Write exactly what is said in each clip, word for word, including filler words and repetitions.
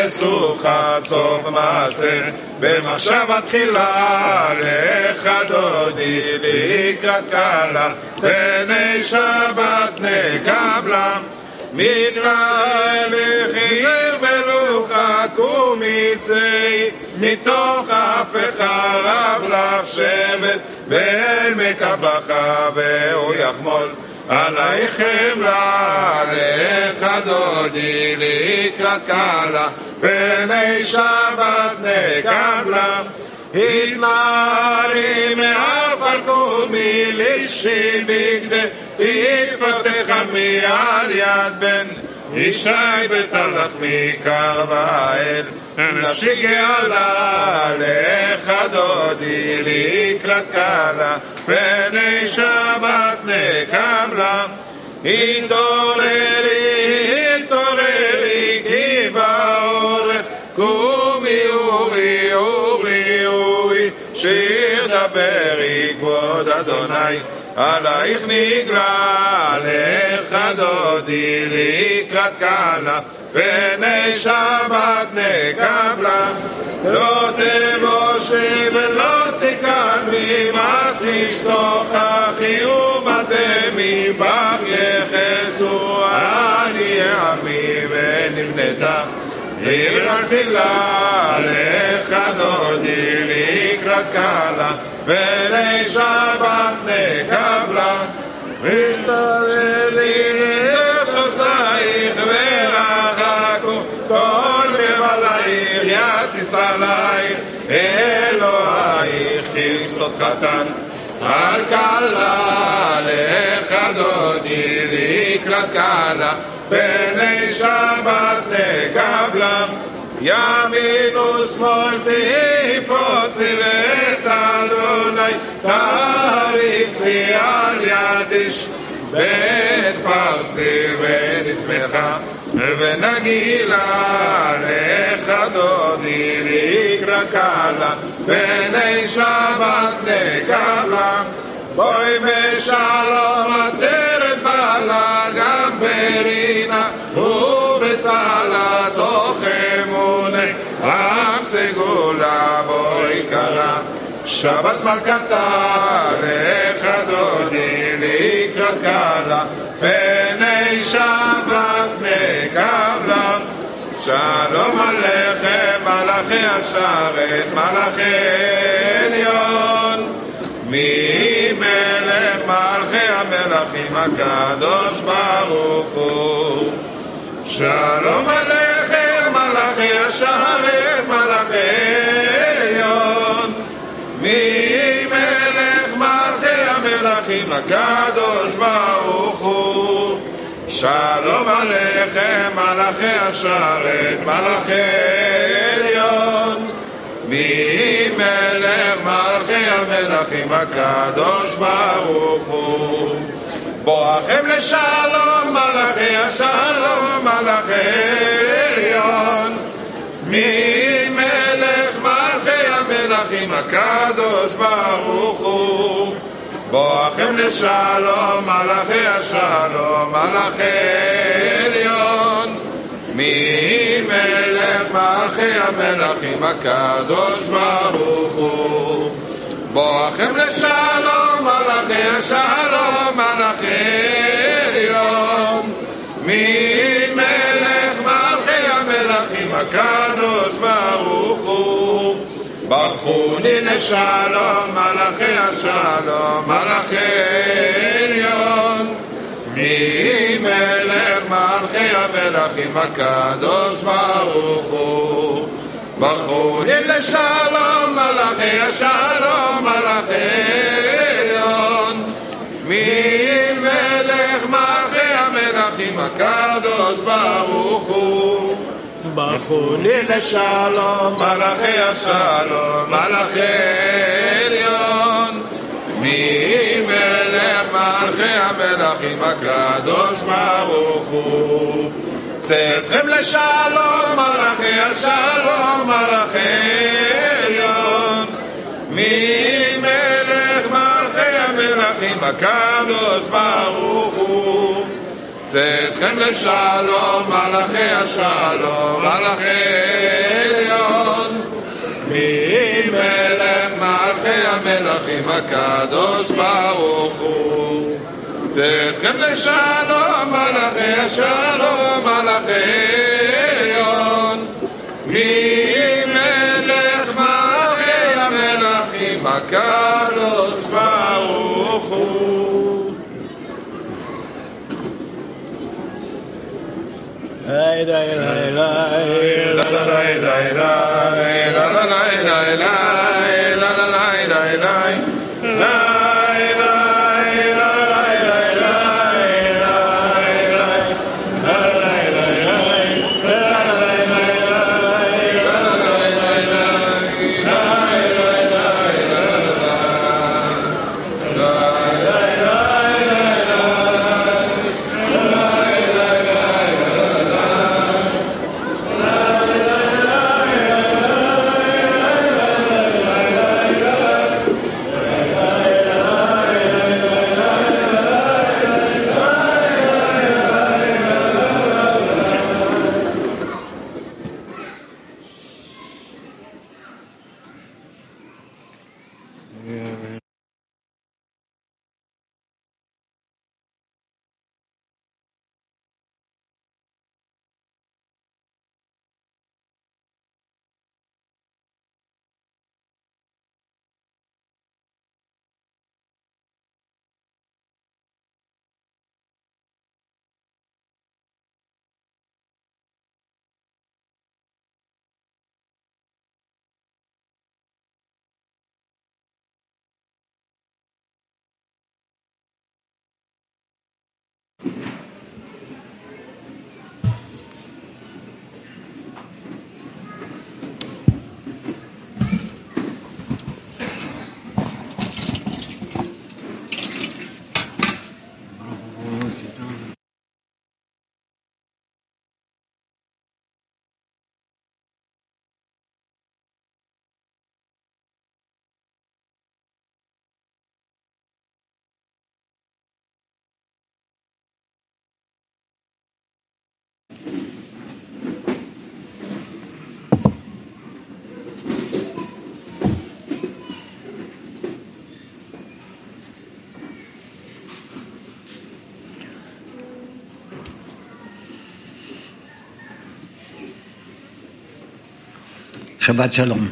וסוכה סוף מעשה, במחשבה תחילה לך דודי לקראת קלה, פני שבת נקבלה, מקרא לחיר בלוחה קומיצי, מתוך אף חרב לך שבת, ואל מקבלך והוא יחמול עלייך חמלה, לך דודי לקראת קלה, פני שבת נקבלה, התנערי מעפר קומי לישי בגדי, תפתח מעל יד בן ישי בתלך מקרבאל, נפשי גאלה לך דודי לקראת קלה, פני שבת נקבלה, התעוררי התעוררי כי באורך, קומי אורי אורי אורי, שיר דברי כבוד אדוני, עלייך נגלה, לך דודי לקראת קלה, פני שבת נקבלה, לא תבושי ולא תקלמי, מה תשתוכחי ומה תמי, בך יחסו על יעמי ונבנתה עיר התפילה, לך דודי לקראת קלה, פני שבת נקבלה, ותעלי לחוזייך ורחקו כל מבלייך, יסיס עלייך אלוהיך כריסטוס חתן על קלה, לך דודי לקראת קלה, פני שבת נקבלה, ימין ושמאל תפרוצי ואת אדוני תריצי על ידיש, בית פרצי ונשמחה ונגילה, לך דודי לקראת קלה, פני שבת נקבלה, בואי בשלום עטרת בעלה, גם ברינה ובצלה תוך אמונה, אף סגולה בואי קלה, שבת מלכתה, לך דודי לקראת קלה, פני שבת נקבלה, שלום עליכם מלאכי השרת, מלאכי עליון, מי מלך מלכי המלכים הקדוש ברוך הוא, שלום עליכם מלאכי השרת, מלאכי עליון, מי מלך מלכי המלכים הקדוש ברוך הוא, שלום עליכם מלאכי השרת, מלאכי עליון, מי מלך מלכי המלכים הקדוש ברוך הוא, בואכם לשלום מלאכי השלום, מלאכי עליון, מי מלך מלכי המלכים הקדוש ברוך הוא, בואכם לשלום מלאכי השלום, מלאכי עליון, מי מלך מלכי המלכים הקדוש ברוך הוא, בואכם לשלום מלאכי השלום, מלאכי עליון, מי מלך מלכי המלכים הקדוש ברוך הוא, ברכוני לשלום מלאכי השלום, מלאכי עליון, מי מלך מלכי המלכים הקדוש ברוך הוא, ברכוני לשלום מלאכי השלום, מלאכי עליון, מי מלך מלכי המלכים הקדוש ברוך הוא, ברכוני לשלום מלאכי השלום, מלאכי עליון, מי מלך מלכי המלכים הקדוש ברוך הוא, צאתכם לשלום מלאכי השלום, מלאכי עליון, מי מלך מלכי המלכים הקדוש ברוך הוא, צאתכם לשלום, מלאכי השלום, מלאכי עליון. ממלך מלכי המלכים הקדוש ברוך הוא. צאתכם לשלום, מלאכי השלום, מלאכי עליון. ממלך מלכי המלכים הקדוש ברוך הוא. Hey, hey, hey, hey, la la la la la la la la la la la la la Shabbat Shalom.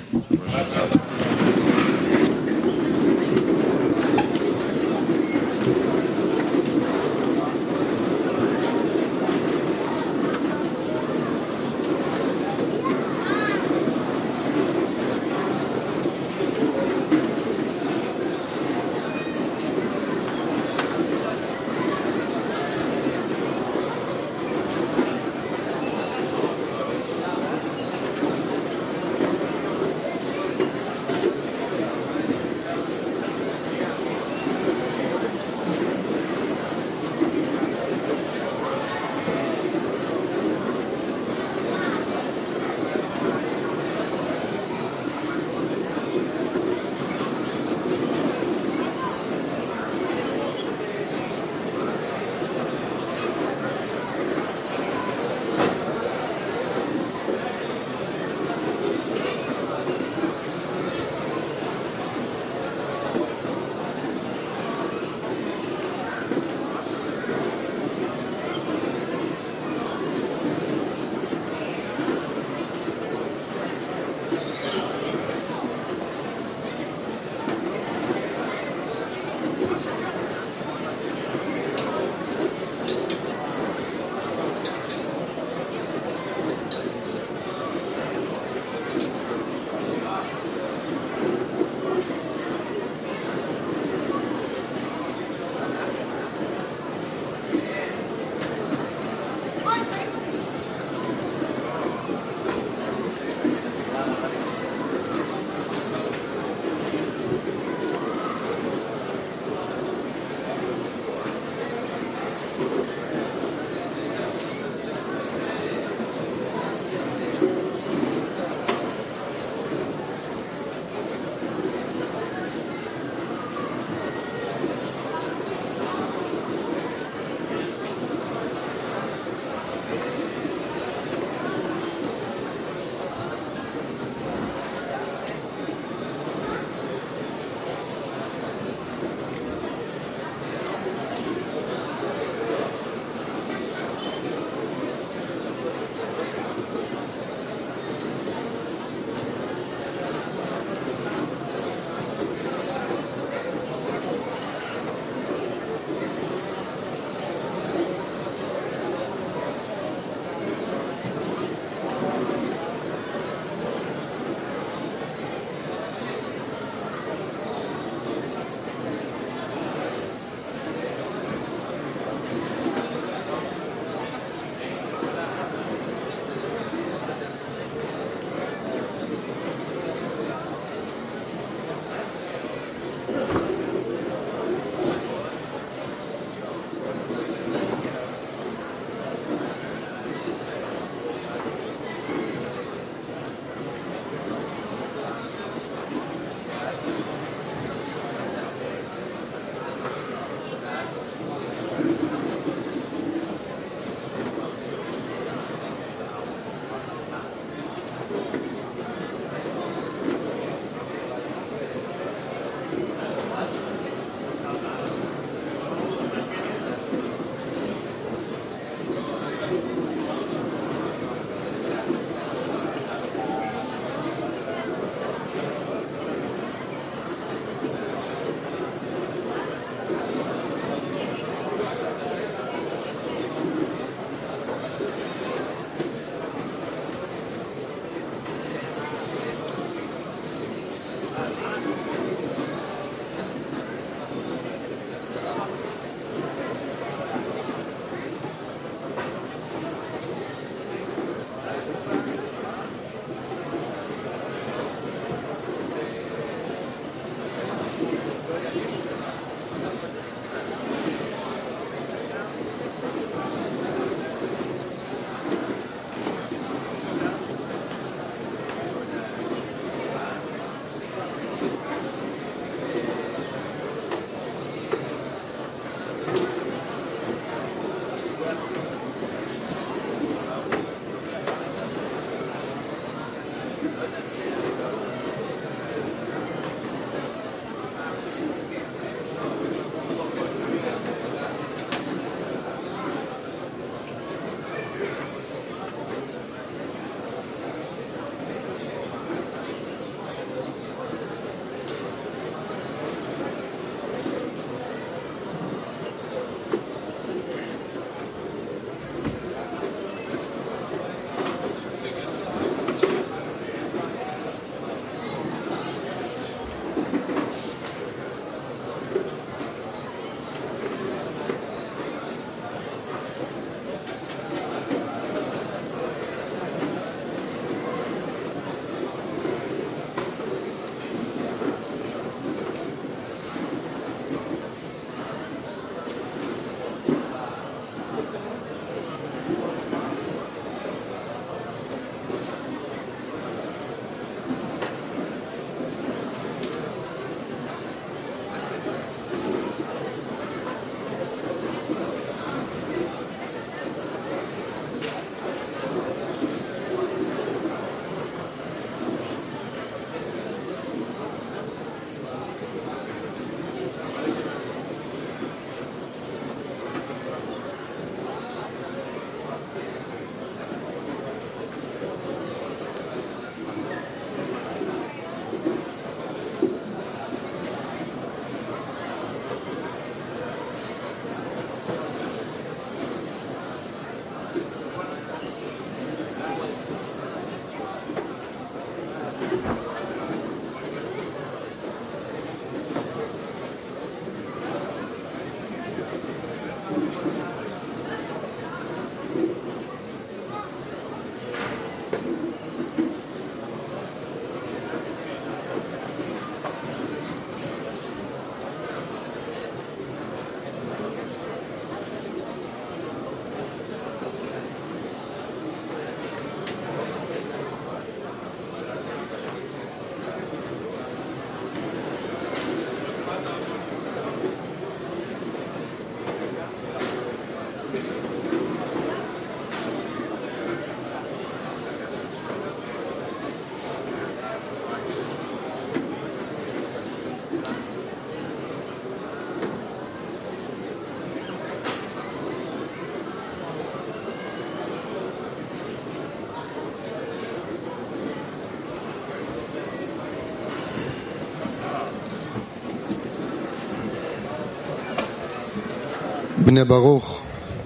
בני ברוך,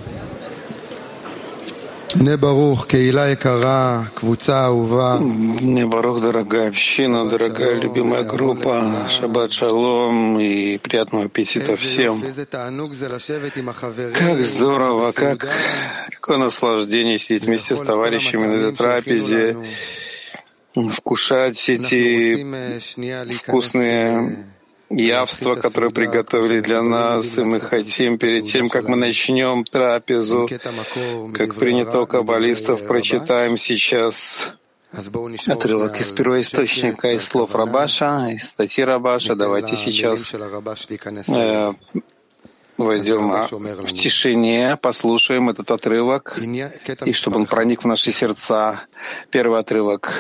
בני ברוך, קהילה יקרה, קבוצה אהובה. Бне Барух, дорогая община, дорогая любимая группа, шаббат шалом и приятного аппетита всем. Как здорово, как, какое наслаждение сидеть вместе с товарищами на этой трапезе, вкушать эти вкусные явства, которые приготовили для нас, и мы хотим перед тем, как мы начнем трапезу, как принято у каббалистов, прочитаем сейчас отрывок из первоисточника, из слов Рабаша, из статьи Рабаша. Давайте сейчас э, войдем в тишине, послушаем этот отрывок, и чтобы он проник в наши сердца. Первый отрывок.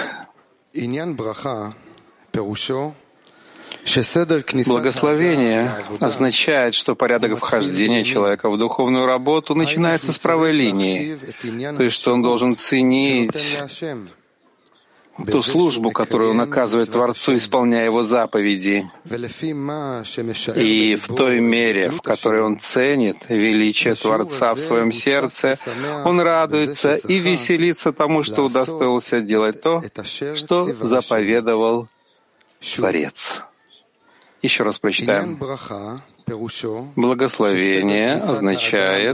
Благословение означает, что порядок вхождения человека в духовную работу начинается с правой линии, то есть что он должен ценить ту службу, которую он оказывает Творцу, исполняя его заповеди. И в той мере, в которой он ценит величие Творца в своем сердце, он радуется и веселится тому, что удостоился делать то, что заповедовал Творец. Еще раз прочитаем. Благословение означает,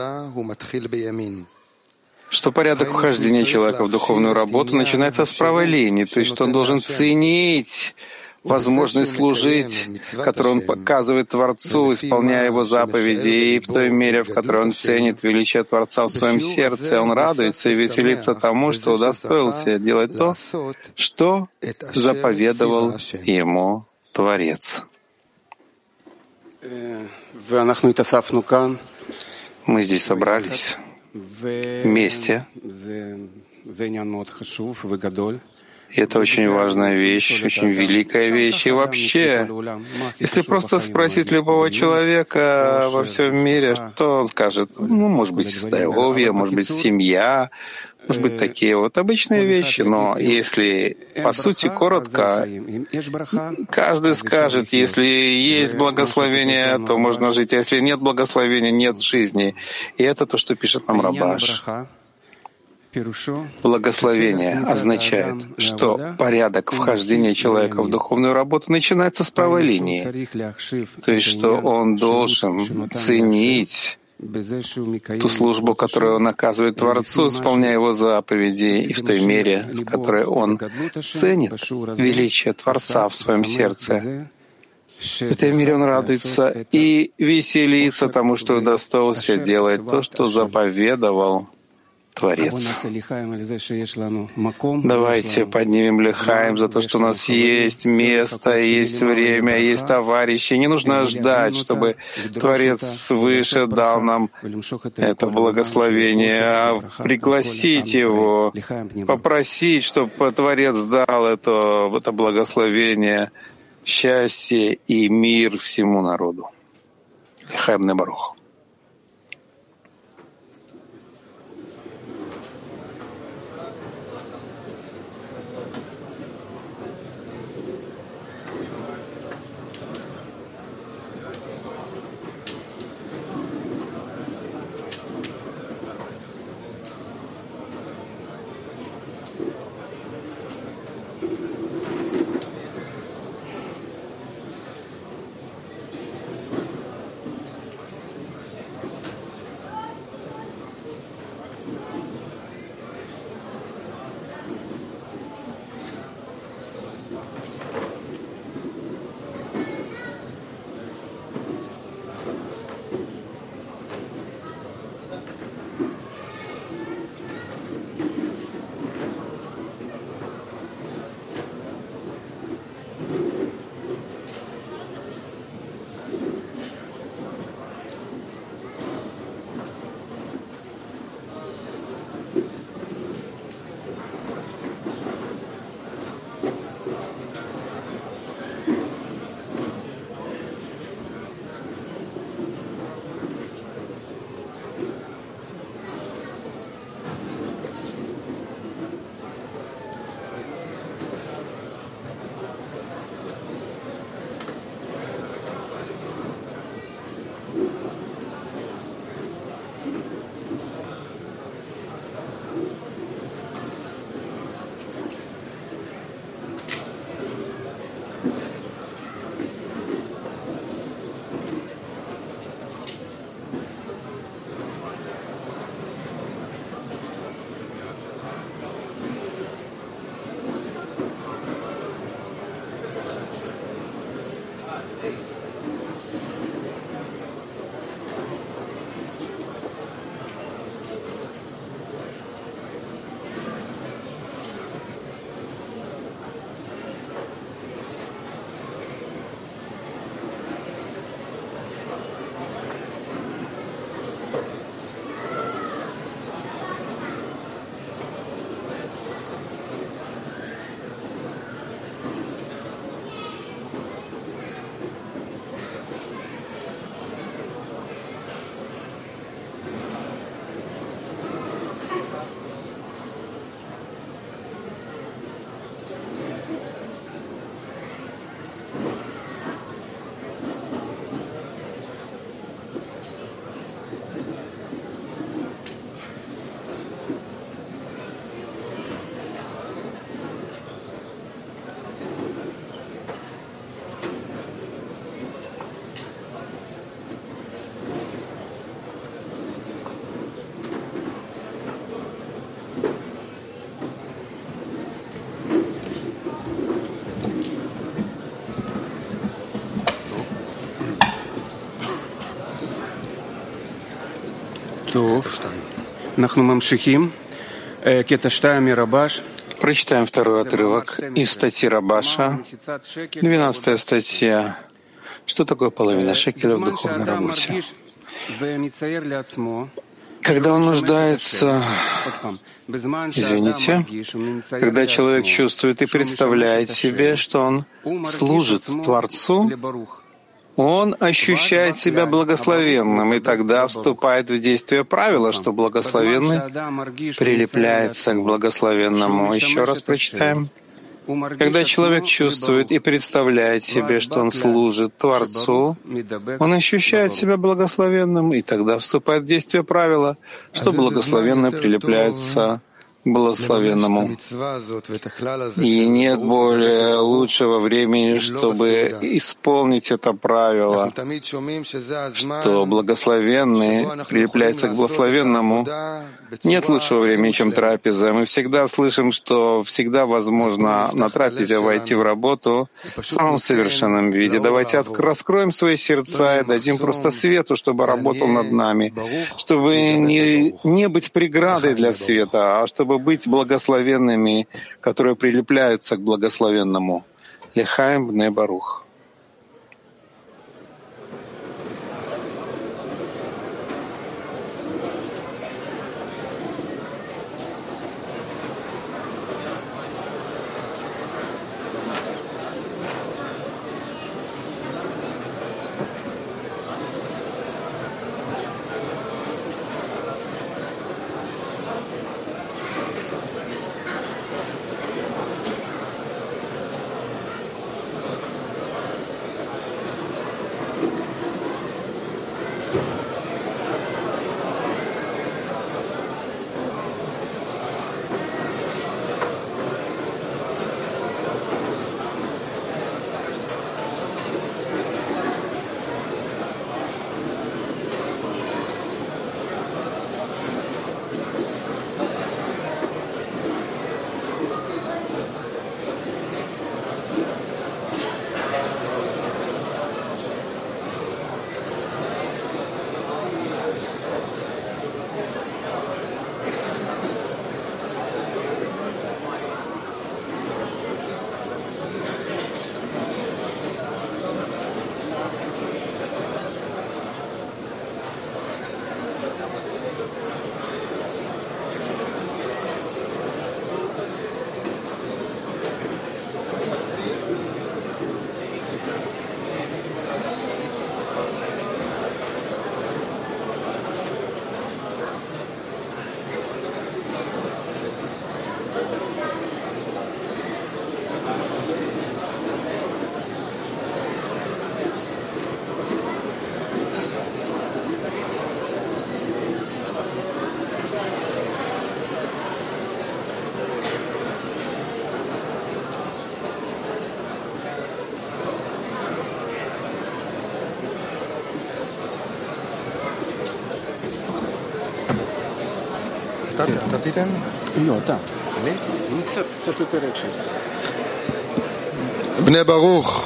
что порядок вхождения человека в духовную работу начинается с правой линии, то есть что он должен ценить возможность служить, которую он показывает Творцу, исполняя его заповеди, и в той мере, в которой он ценит величие Творца в своем сердце, он радуется и веселится тому, что удостоился делать то, что заповедовал ему Творец. Мы здесь собрались вместе. И это очень важная вещь, очень великая вещь. И вообще, если просто спросить любого человека во всем мире, что он скажет? Ну, может быть, здоровье, может быть, семья, может быть, такие вот обычные вещи. Но если, по сути, коротко, каждый скажет, если есть благословение, то можно жить, а если нет благословения, нет жизни. И это то, что пишет нам Рабаш. Благословение означает, что порядок вхождения человека в духовную работу начинается с правой линии, то есть что он должен ценить ту службу, которую он оказывает Творцу, исполняя его заповеди, и в той мере, в которой он ценит величие Творца в своем сердце. В этой мере он радуется и веселится тому, что удостоился делать то, что заповедовал Творец. Давайте поднимем лихаим за то, что у нас есть место, есть время, есть товарищи. Не нужно ждать, чтобы Творец свыше дал нам это благословение, а пригласить его, попросить, чтобы Творец дал это, это благословение, счастье и мир всему народу. Лихаим бне Барух. Прочитаем второй отрывок из статьи Рабаша, двенадцатая статья. Что такое половина шекеля в духовной работе? Когда он нуждается, извините, когда человек чувствует и представляет себе, что он служит Творцу, он ощущает себя благословенным, и тогда вступает в действие правило, что благословенный прилепляется к благословенному. Еще раз прочитаем. Когда человек чувствует и представляет себе, что он служит Творцу, он ощущает себя благословенным, и тогда вступает в действие правила, что благословенный прилепляется к благословенному. И нет более лучшего времени, чтобы исполнить это правило, что благословенный прилепляется к благословенному. Нет лучшего времени, чем трапеза. Мы всегда слышим, что всегда возможно на трапезе войти в работу в самом совершенном виде. Давайте от... раскроем свои сердца и дадим просто свету, чтобы работал над нами, чтобы не, не быть преградой для света, а чтобы быть благословенными, которые прилепляются к благословенному. Лехаим бне барух. אתה תיתן? לא, אתה. אני? קצת, קצת יותר אקשן. בני ברוך.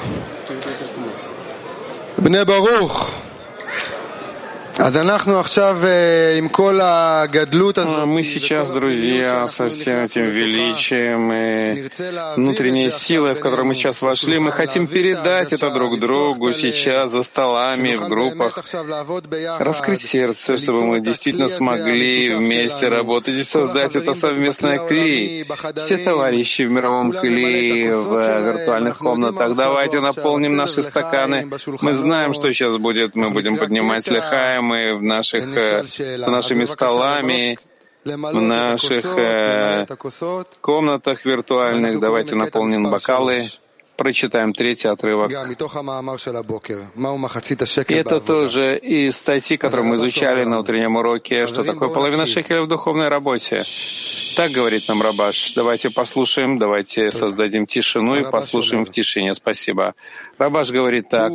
בני ברוך. Мы сейчас, друзья, со всем этим величием и внутренней силой, в которую мы сейчас вошли, мы хотим передать это друг другу сейчас за столами, в группах, раскрыть сердце, чтобы мы действительно смогли вместе работать и создать это совместное кли. Все товарищи в мировом кли, в виртуальных комнатах, давайте наполним наши стаканы. Мы знаем, что сейчас будет, мы будем поднимать лехаем, мы в наших, с нашими столами, в наших э, комнатах виртуальных. Давайте наполним бокалы. Прочитаем третий отрывок. И это тоже из статьи, которую мы изучали на утреннем уроке, что такое половина шекеля в духовной работе. Так говорит нам Рабаш. Давайте послушаем, давайте создадим тишину и послушаем в тишине. Спасибо. Рабаш говорит так.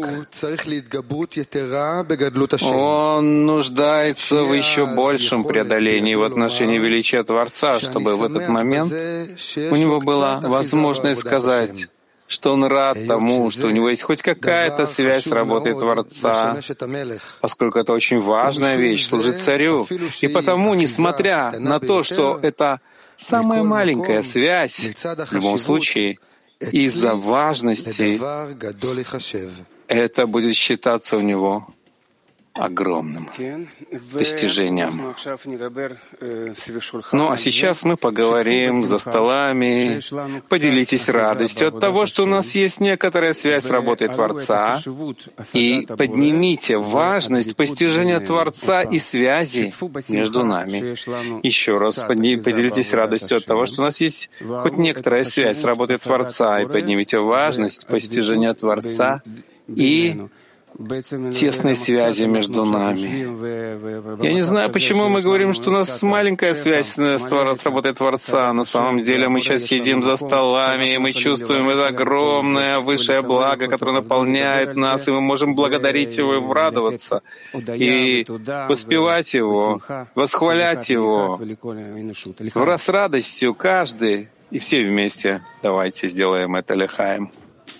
Он нуждается в еще большем преодолении в отношении величия Творца, чтобы в этот момент у него была возможность сказать: что он рад тому, что у него есть хоть какая-то связь с работой Творца, поскольку это очень важная вещь, служить царю. И потому, несмотря на то, что это самая маленькая связь, в любом случае, из-за важности это будет считаться у него огромным достижением. Ну а сейчас мы поговорим за столами. Поделитесь радостью от того, что у нас есть некоторая связь с работой Творца, и поднимите важность постижения Творца и связи между нами. Еще раз поделитесь радостью от того, что у нас есть хоть некоторая связь с работой Творца, и поднимите важность постижения Творца и тесной связи между нами. Я не знаю, почему мы говорим, что у нас маленькая связь с работой Творца. На самом деле мы сейчас сидим за столами, и мы чувствуем это огромное высшее благо, которое наполняет нас, и мы можем благодарить Его и радоваться, и воспевать Его, восхвалять Его. С радостью каждый и все вместе давайте сделаем это лехаем.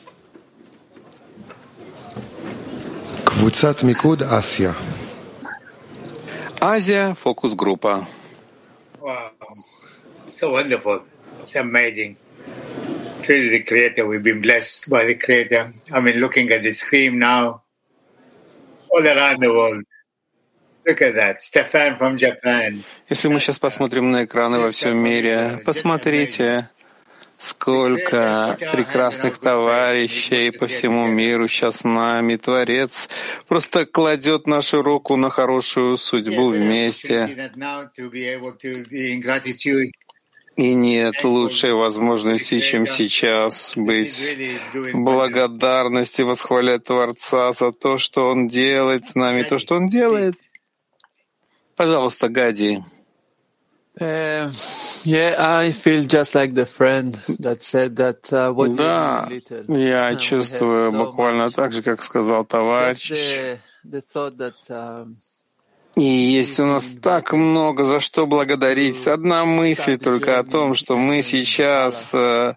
Азия, фокус-группа. Wow, so wonderful, it's amazing. Truly, the Creator, we've been blessed by the Creator. I mean, looking at the screen now, all around the world. Look at that, Stefan from Japan. Если мы сейчас посмотрим на экраны во всем мире, посмотрите, сколько прекрасных товарищей по всему миру сейчас с нами. Творец просто кладет нашу руку на хорошую судьбу вместе. И нет лучшей возможности, чем сейчас быть в благодарности, восхвалять Творца за то, что Он делает с нами, то, что Он делает. Пожалуйста, Гади. Uh, yeah, I feel just like the friend that said that uh, what да, you little. Я чувствую so буквально much. Так же, как сказал товарищ. The, the that, um, И есть у нас так много за что благодарить. Одна мысль только о том, что мы сейчас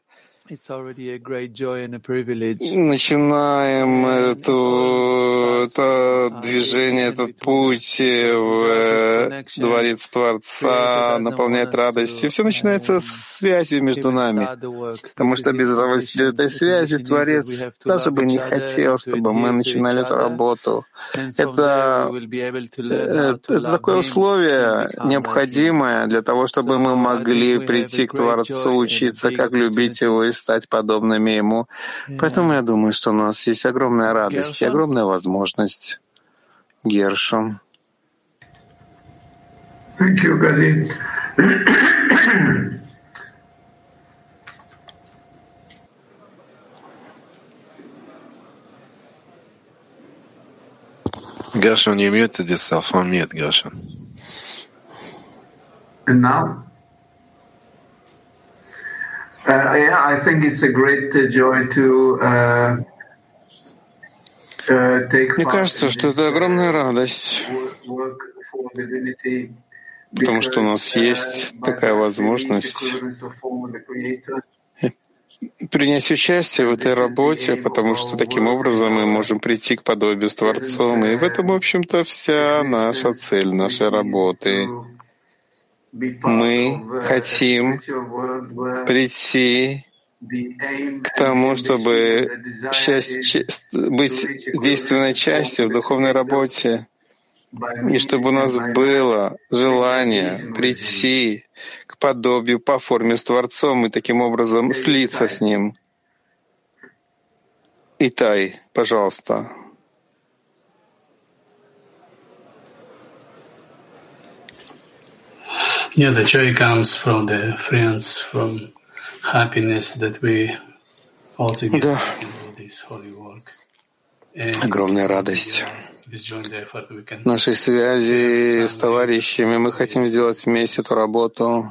начинаем эту, это движение, этот путь в Дворец Творца, наполняет радостью. Все начинается с связью между нами, потому что без этой связи Творец даже бы не хотел, чтобы мы начинали эту работу. Это, это такое условие необходимое для того, чтобы мы могли прийти к Творцу, учиться, как любить Его и стать подобными Ему. Поэтому я думаю, что у нас есть огромная радость и огромная возможность. Гершом. Thank you, Gadi. Gershon, you muted yourself. On mute, Gershon. And now? Uh, yeah, I think it's a great uh, joy to uh, uh, take Мне кажется, что это огромная радость, потому что у нас есть такая возможность принять участие в этой работе, потому что таким образом мы можем прийти к подобию с Творцом. И в этом, в общем-то, вся наша цель нашей работы. Мы хотим прийти к тому, чтобы часть, быть действенной частью в духовной работе, и чтобы у нас было желание прийти к подобию по форме с Творцом и таким образом слиться с Ним. Итай, пожалуйста. Yeah, the joy comes from the friends, from happiness that we all together да. can do this holy work. Огромная радость нашей связи с товарищами. Мы хотим сделать вместе эту работу.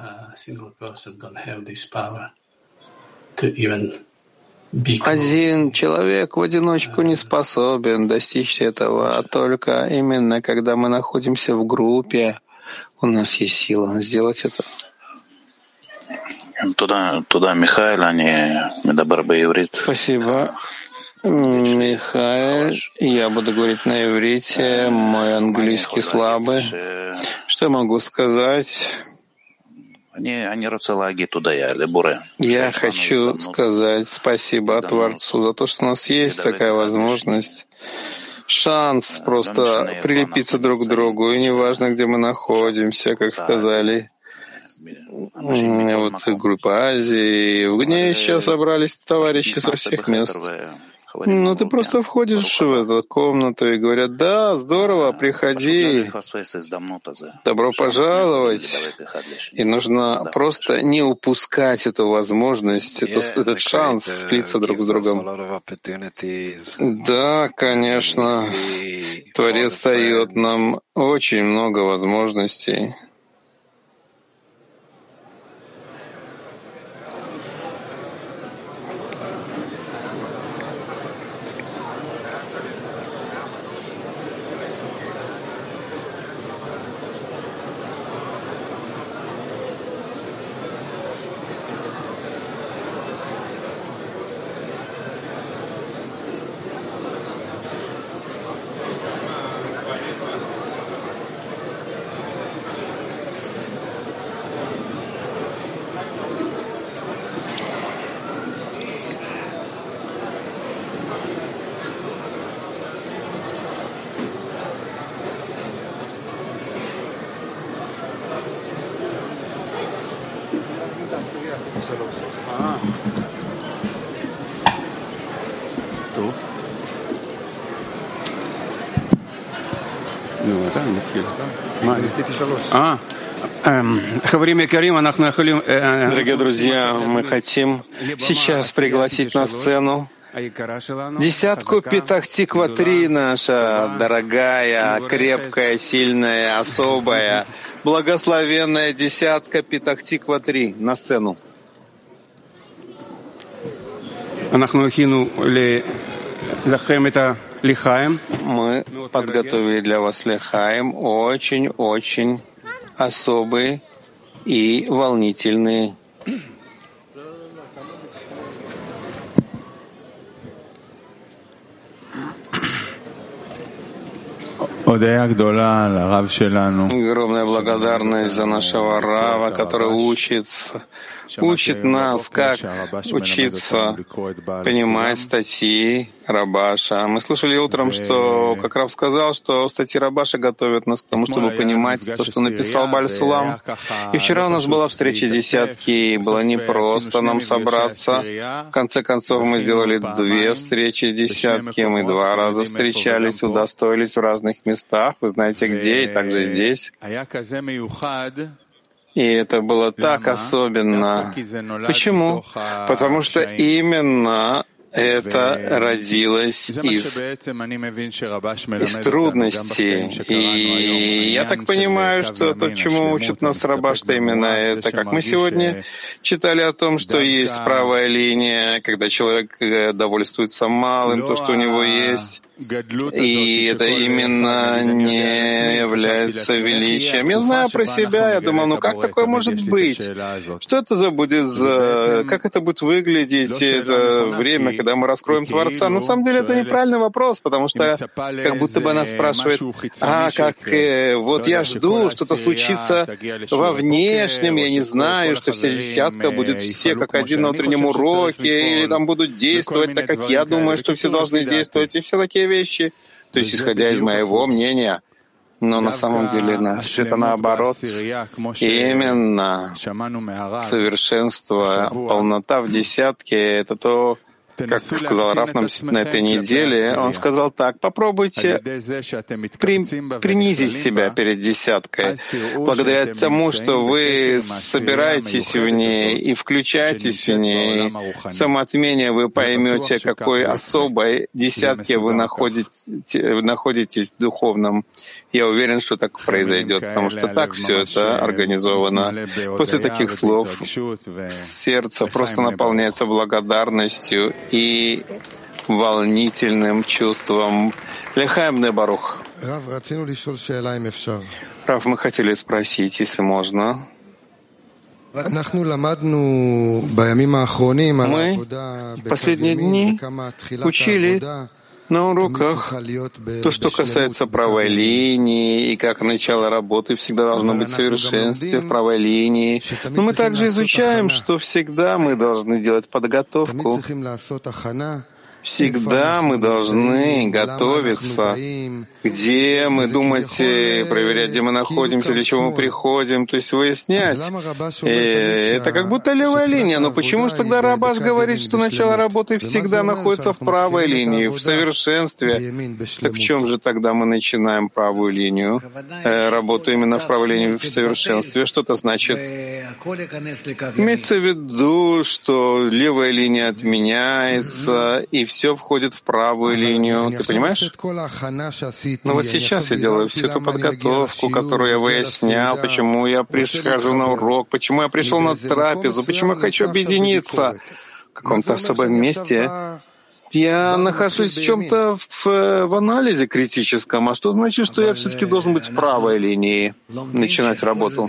Один человек в одиночку не способен достичь этого, а только именно когда мы находимся в группе, у нас есть сила сделать это. Спасибо, Михаил. Я буду говорить на иврите, мой английский слабый. Что я могу сказать? Я хочу сказать спасибо Творцу за то, что у нас есть такая возможность, шанс просто прилепиться друг к другу, и неважно, где мы находимся, как сказали. Вот группа Азии, в ней сейчас собрались товарищи со всех мест. Ну, ты просто входишь в эту комнату и говорят: да, здорово, приходи, добро пожаловать. И нужно просто не упускать эту возможность, эту, этот шанс слиться друг с другом. Да, конечно, Творец дает нам очень много возможностей. Дорогие друзья, мы хотим сейчас пригласить на сцену десятку Петах-Тиква-три, наша дорогая, крепкая, сильная, особая, благословенная десятка Петах-Тиква-три на сцену. Мы подготовили для вас лихаим, очень-очень особый и волнительный. Огромная благодарность за нашего Рава, который учится, учит нас, как учиться понимать статьи Рабаша. Мы слышали утром, что, как Рав сказал, что статьи Рабаша готовят нас к тому, чтобы понимать то, что написал Бааль Сулам. И вчера у нас была встреча десятки, и было непросто нам собраться. В конце концов, мы сделали две встречи десятки, мы два раза встречались, удостоились в разных местах, вы знаете где, и также здесь. И это было так особенно. Почему? Потому что именно это родилось из, из трудностей. И я так понимаю, что то, чему учит нас Рабаш, что именно это. Как мы сегодня читали о том, что есть правая линия, когда человек довольствуется малым, то, что у него есть. И это именно не является величием. Я знаю про себя, я думал, ну как такое может быть? Что это за будет, за... как это будет выглядеть, это время, когда мы раскроем Творца? На самом деле это неправильный вопрос, потому что как будто бы она спрашивает: а, как, э, вот я жду, что-то случится во внешнем, я не знаю, что вся десятка будет все как один на утреннем уроке, или там будут действовать так, как я думаю, что все должны действовать, и все такие вещи, то есть исходя из моего мнения. Но на самом деле все это наоборот. Именно совершенство, полнота в десятке — это то, как сказал Рав нам на этой неделе, он сказал так: попробуйте при, принизить себя перед десяткой. Благодаря тому, что вы собираетесь в ней и включаетесь в ней, самоотмение вы поймете, какой особой десятке вы находитесь, вы находитесь в духовном. Я уверен, что так произойдет, потому что так все это организовано. После таких слов сердце просто наполняется благодарностью и волнительным чувством. Лехаем не барух. Рав, мы хотели спросить, если можно. Мы в последние дни учили на уроках то, что касается правой линии, и как начало работы всегда должно быть в совершенстве в правой линии. Но мы также изучаем, что всегда мы должны делать подготовку. Всегда мы должны готовиться, где мы думать, проверять, где мы находимся, для чего мы приходим, то есть выяснять. И это как будто левая линия. Но почему же тогда Рабаш говорит, что начало работы всегда находится в правой линии, в совершенстве? Так в чем же тогда мы начинаем правую линию, э, работу именно в правой линии, в совершенстве? Что это значит? Имеется в виду, что левая линия отменяется, и все входит в правую линию. Ты понимаешь? Но вот сейчас я делаю всю эту подготовку, которую я выяснял, почему я прихожу на урок, почему я пришел на трапезу, почему я хочу объединиться в каком-то особом месте. Я нахожусь в чем-то в, в анализе критическом. А что значит, что я все-таки должен быть в правой линии, начинать работу?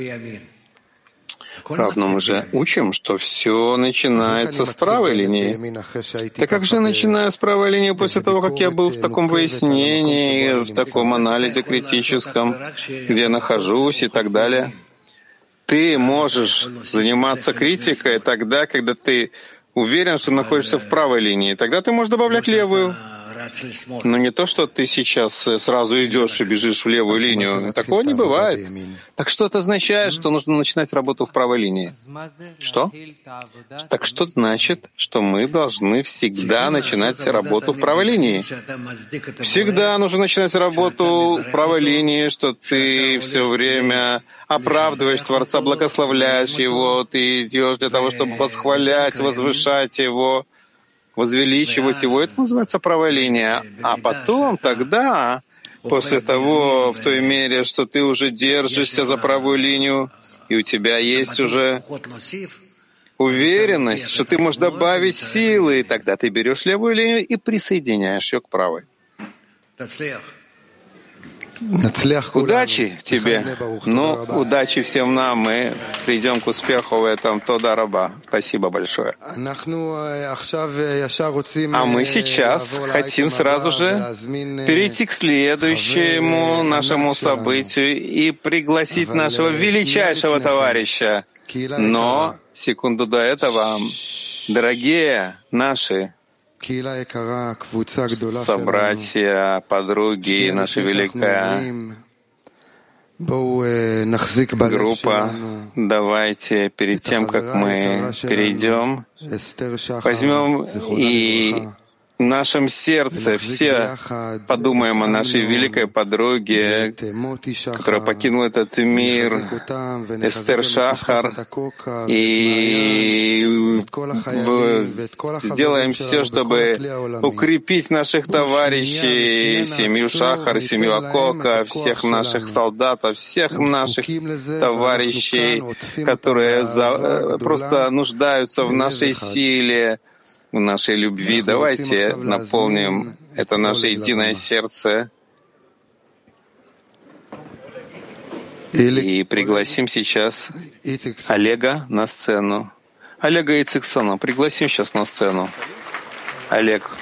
Правда, мы же учим, что все начинается с правой линии. Так как же я начинаю с правой линии после того, как я был в таком выяснении, в таком анализе критическом, где я нахожусь и так далее? Ты можешь заниматься критикой тогда, когда ты уверен, что находишься в правой линии. Тогда ты можешь добавлять левую. Но не то, что ты сейчас сразу идешь и бежишь в левую линию. Такого не бывает. Так что это означает, что нужно начинать работу в правой линии? Что? Так что значит, что мы должны всегда начинать работу в правой линии? Всегда нужно начинать работу в правой линии, что ты все время оправдываешь Творца, благословляешь Его, ты идешь для того, чтобы восхвалять, возвышать Его, возвеличивать Его. Это называется правая линия. А потом тогда, после того, в той мере, что ты уже держишься за правую линию, и у тебя есть уже уверенность, что ты можешь добавить силы, и тогда ты берешь левую линию и присоединяешь ее к правой. Удачи тебе. Ну, удачи всем нам. Мы придем к успеху в этом. Тода раба. Спасибо большое. А мы сейчас хотим сразу же перейти к следующему нашему событию и пригласить нашего величайшего товарища. Но секунду до этого, дорогие наши собратья, подруги, наша великая группа, давайте перед тем, как мы перейдем, возьмем и в нашем сердце все подумаем о нашей великой подруге, которая покинула этот мир, Эстер Шахар, и сделаем все, чтобы укрепить наших товарищей, семью Шахар, семью Акока, всех наших солдатов, всех наших товарищей, которые за, просто нуждаются в нашей силе, в нашей любви. Давайте наполним это наше единое сердце и пригласим сейчас Олега на сцену. Олега Ициксона пригласим сейчас на сцену. Олег.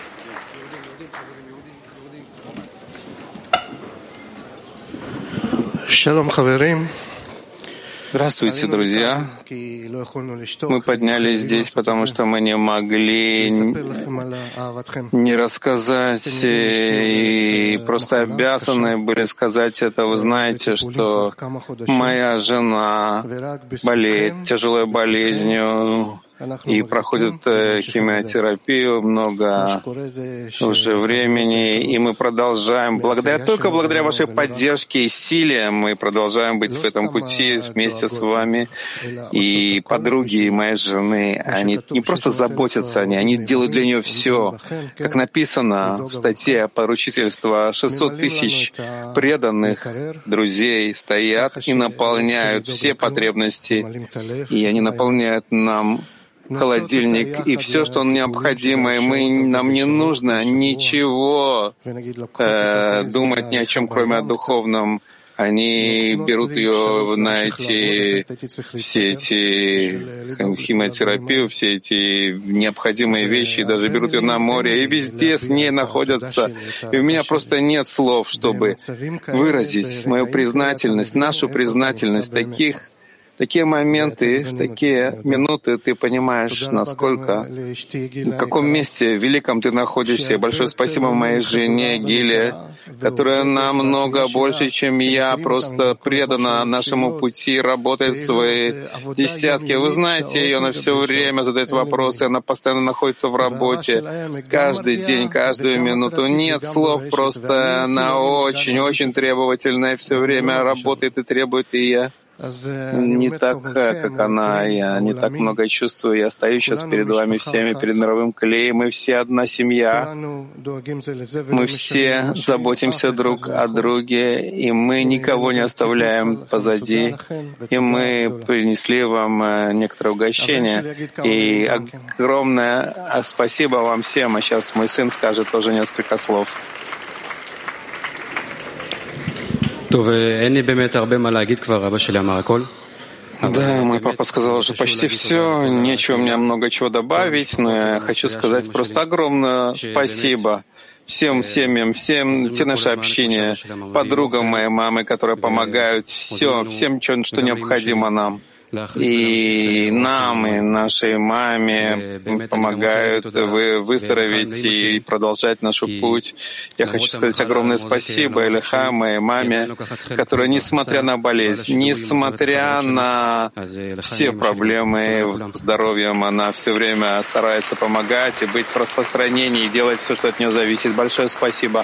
Шалом, хаверим. Здравствуйте, друзья. Мы поднялись здесь, потому что мы не могли не рассказать и просто обязаны были сказать это. Вы знаете, что моя жена болеет тяжелой болезнью и проходит химиотерапию много уже времени, и мы продолжаем, благодаря только благодаря вашей поддержке и силе, мы продолжаем быть в этом пути вместе с вами. И подруги моей жены, они не просто заботятся о ней, они делают для нее все. Как написано в статье поручительства, шестьсот тысяч преданных друзей стоят и наполняют все потребности, и они наполняют нам холодильник и все, что необходимо, и мы, нам не нужно ничего э, думать ни о чем, кроме о духовном. Они берут ее на эти, все эти химиотерапию, все эти необходимые вещи, даже берут ее на море, и везде с ней находятся. И у меня просто нет слов, чтобы выразить мою признательность, нашу признательность. Таких, такие моменты, в такие минуты ты понимаешь, насколько, в каком месте великом ты находишься. И большое спасибо моей жене Гиле, которая намного больше, чем я, просто предана нашему пути, работает в свои десятки. Вы знаете ее, она все время задает вопросы, она постоянно находится в работе, каждый день, каждую минуту. Нет слов, просто она очень-очень требовательная, все время работает и требует, и я не так, как она, я не так много чувствую. Я стою сейчас перед вами всеми, перед мировым клеем. Мы все одна семья. Мы все заботимся друг о друге, и мы никого не оставляем позади. И мы принесли вам некоторое угощение. И огромное спасибо вам всем. А сейчас мой сын скажет тоже несколько слов. Да, мой папа сказал уже почти все, нечего мне много чего добавить, но я хочу сказать просто огромное спасибо всем семьям, всем, все наше общение, подругам моей мамы, которые помогают, все, всем, что необходимо нам. И нам, и нашей маме помогают вы выздороветь и продолжать наш путь. Я хочу сказать огромное спасибо Элиха, моей маме, которая, несмотря на болезнь, несмотря на все проблемы с здоровьем, она все время старается помогать и быть в распространении, и делать все, что от нее зависит. Большое спасибо.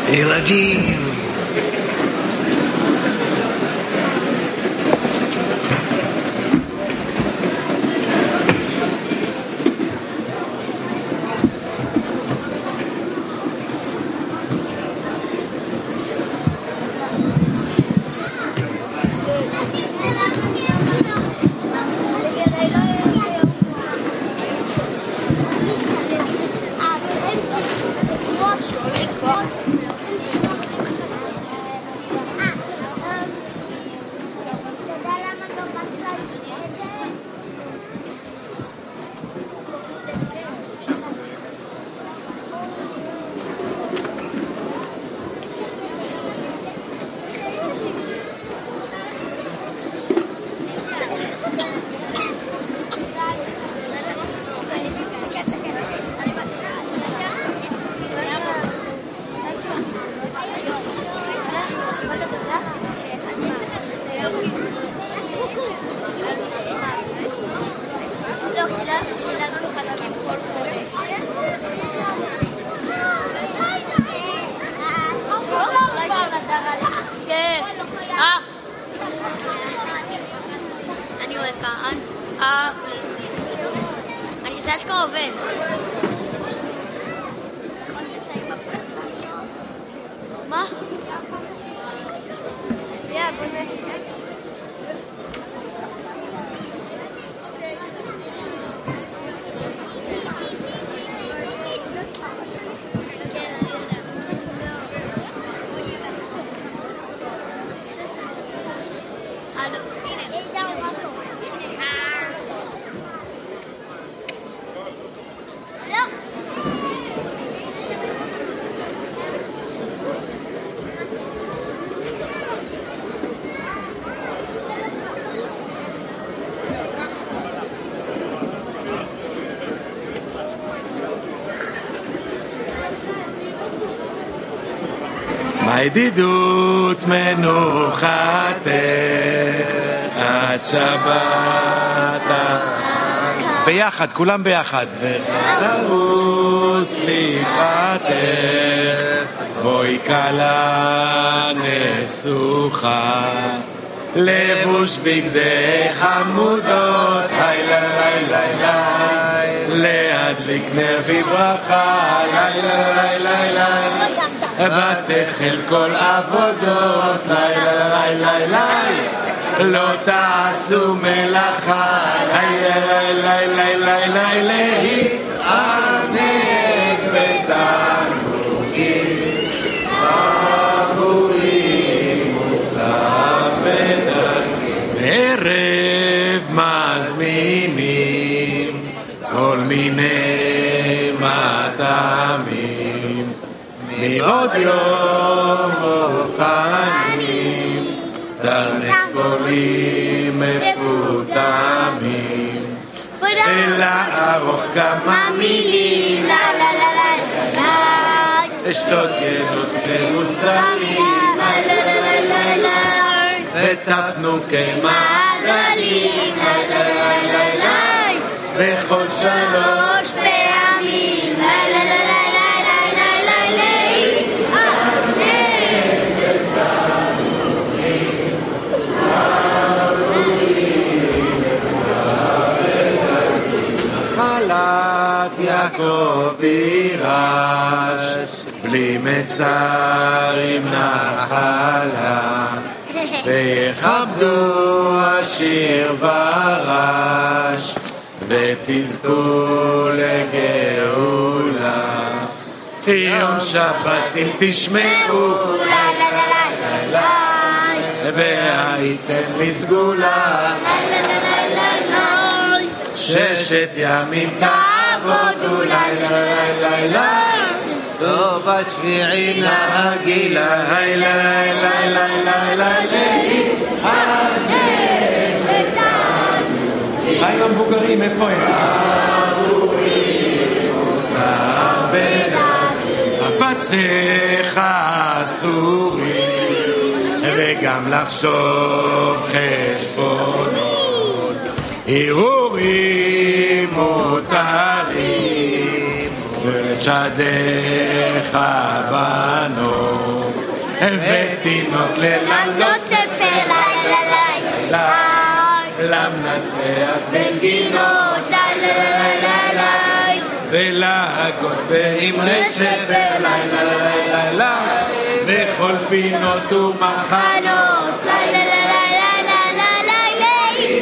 ילדים. הידידות מנוחתך עד שבת ביחד, כולם ביחד ותרוץ לקראתך בואי כלה נסוכה לבוש בגדי חמודות לילה לילה לילה להדליק נר בברכה לילה לילה לילה ותחל כל עבודות לילה לילה לילה לא תעשו מלאכה לילה לילה לילה להתענג בתענוגים עבורים וצלב ודגים בערב מזמינים כל מיני מטעמים מעוד יום מוכנים תרנגולים מפותמים ולערוך כמה מילים לשתות גנות ומוסרים ותפנוקי מעגלים בכל שלוש פעמים נחלת יעקב יירש בלי מצר עם נחלה ויכבדו עשיר ורש ותזכו לגאולה יום שבת אם תשמעו והייתם לסגולה ששת ימים תעבודו לילה לילה לילה טוב השביעי נהגילה לילה לילה לילה לילה מה עם המבוגרים? איפה הם? הפצך אסורים וגם לחשוב חשבונות הרהורים מותרים ולשדך בנו ותינוק ללם לא ספר לילה לילה למנצח בנגינות לילה לילה לילה ולהגות באמרי שבר לילה לילה לילה בכל פינות ומחנות לילה לילה לילה לילה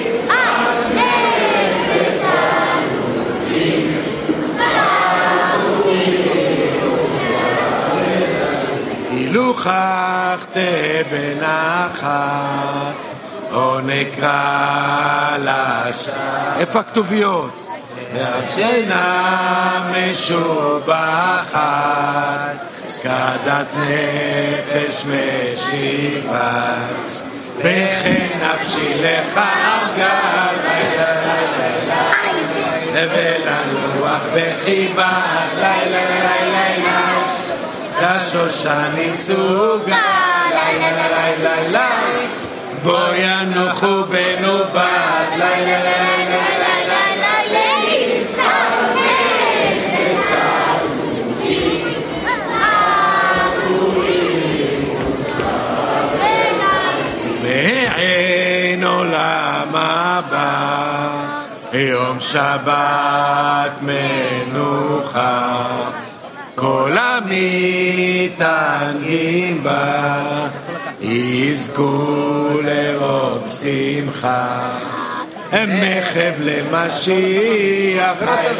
אילו חכתה בנחת או נקרא לשם איפה הכתוביות? והשינה משובחת כדת נפש משיבה וכן נפשי לך ארגל לילה לילה ולנוח בחיבה לילה לילה לילה כשושנים סוגה לילה לילה לילה בו ינוחו בנובת לילה לילה לילה מעין עולם הבא יום שבת מנוחה כל המתענגים בה יזכו לרוב שמחה מחב למשיח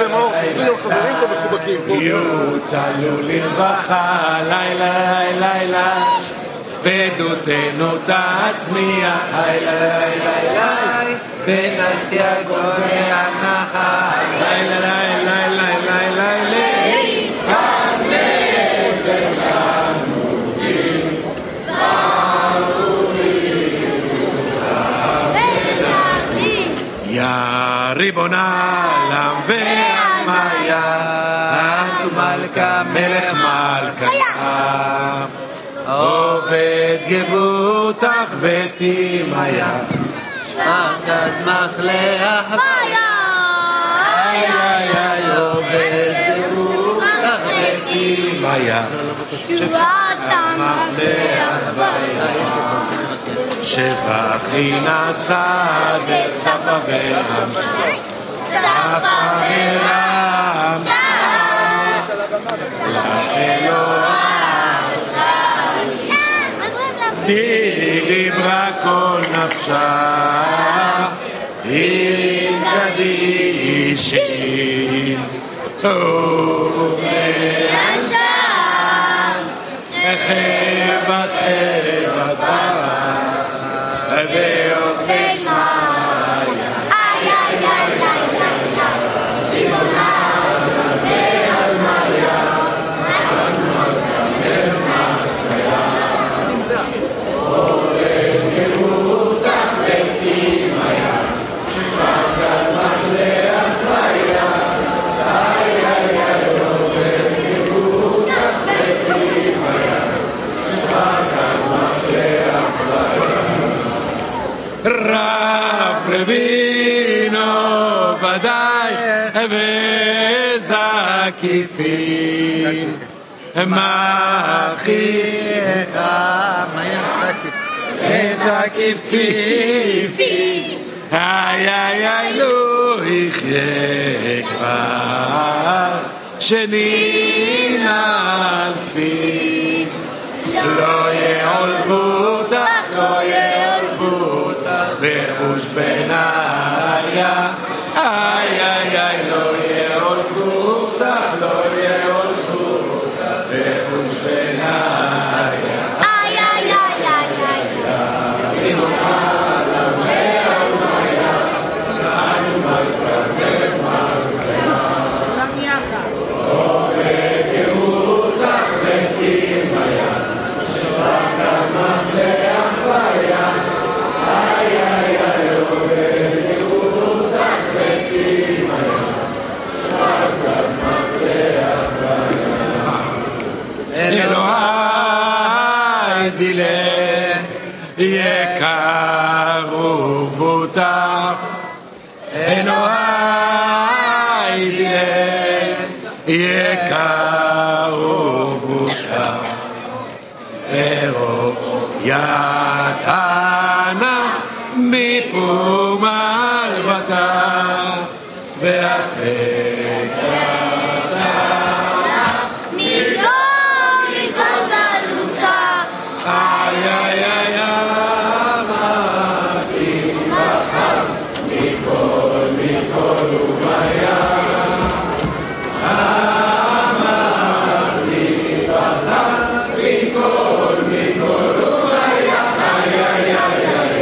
יוצלו לרווחה לילה לילה בדותנו תצמיח לילה לילה ונסיע גורי הנחה לילה לילה לילה לילה יא ריבון העולם והמיה את מלכה מלך מלכה עובד גבותך ותימיה שפקד מחלך ביה עובד גבותך ותימיה שפקד מחלך ביה שבחי נסד צפה ורם צפה ורם דיברה כל נפשה היא קדישין ומאנשם חבת חבת בארץ ויופי שמיה איי איי איי ריבונה והמיה רב רבינו ודאי וזקיפין מחיך וזקיפין איי איי איי לא יחיה כבר שנים אלפים לא יעולבו אותך לא יעולבו אותך בחוש בניה איי איי איי לא יעולבו אותך לא יעולבו אותך בחוש בניה איי איי איי איי איי רב רבינו בקרוב אותה ארוך יתנה מפום ערבתה ואחרי צדה מכל מכל גלותה איי איי איי אמרתי בחר מכל מכל וביה אמרתי בחר מכל מכל וביה איי איי איי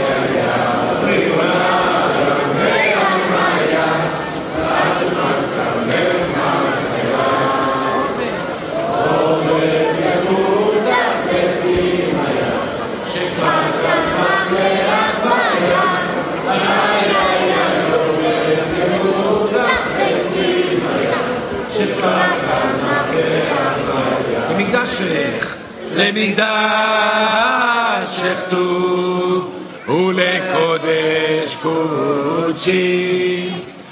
למקדשך טוב ולקודש קודשי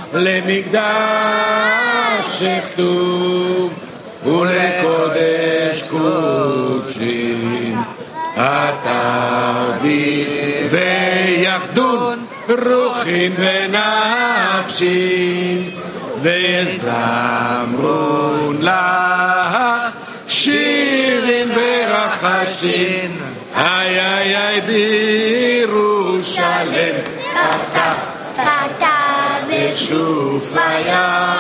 למקדשך טוב ולקודש קודשי התרדי ביחדון רוחין ונפשי וזמרון לך שירים ורחשים איי איי איי בירושלם קרתה קרתה ושופיה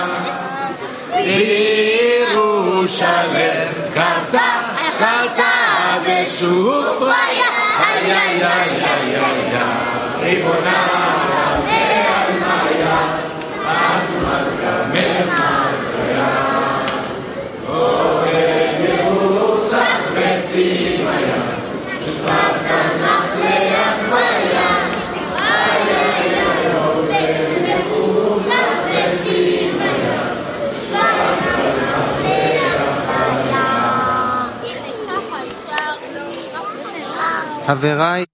בירושלם קרתה קרתה ושופיה איי איי איי איי איי ריבונה ועלמיה אנו מלכה מלכה חבריי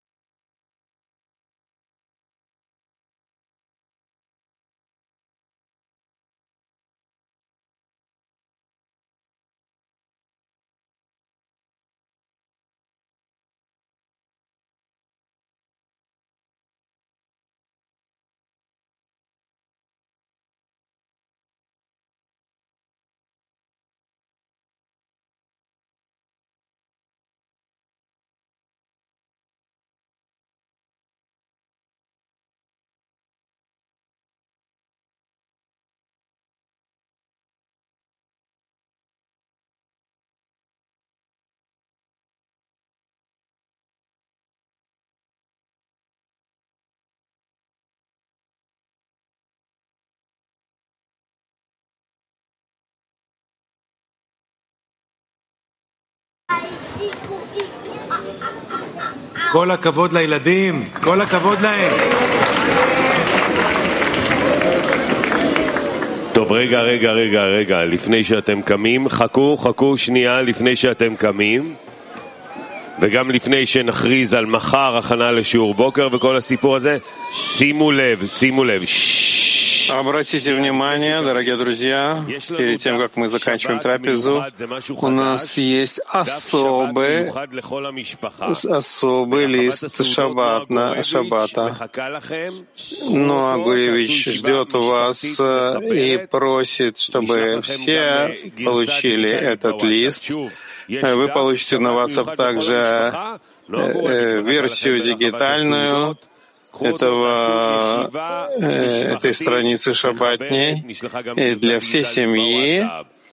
כל הכבוד לילדים, כל הכבוד להם. טוב, רגע, רגע, רגע, רגע, לפני שאתם קמים, חכו, חכו שנייה לפני שאתם קמים, וגם לפני שנכריז על מחר הכנה לשיעור בוקר וכל הסיפור הזה, שימו לב, שימו לב. Обратите внимание, дорогие друзья, перед тем, как мы заканчиваем трапезу, у нас есть особый, особый лист шаббат, на шаббата. Ноа Гуревич ждет вас и просит, чтобы все получили этот лист. Вы получите на WhatsApp также версию дигитальную этого, этой страницы шаббатней для всей семьи.